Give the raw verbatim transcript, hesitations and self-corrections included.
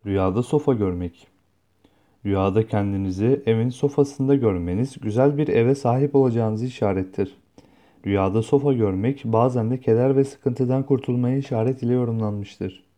Rüyada sofa görmek. Rüyada kendinizi evin sofasında görmeniz güzel bir eve sahip olacağınızı işarettir. Rüyada sofa görmek bazen de keder ve sıkıntıdan kurtulmayı işaret ile yorumlanmıştır.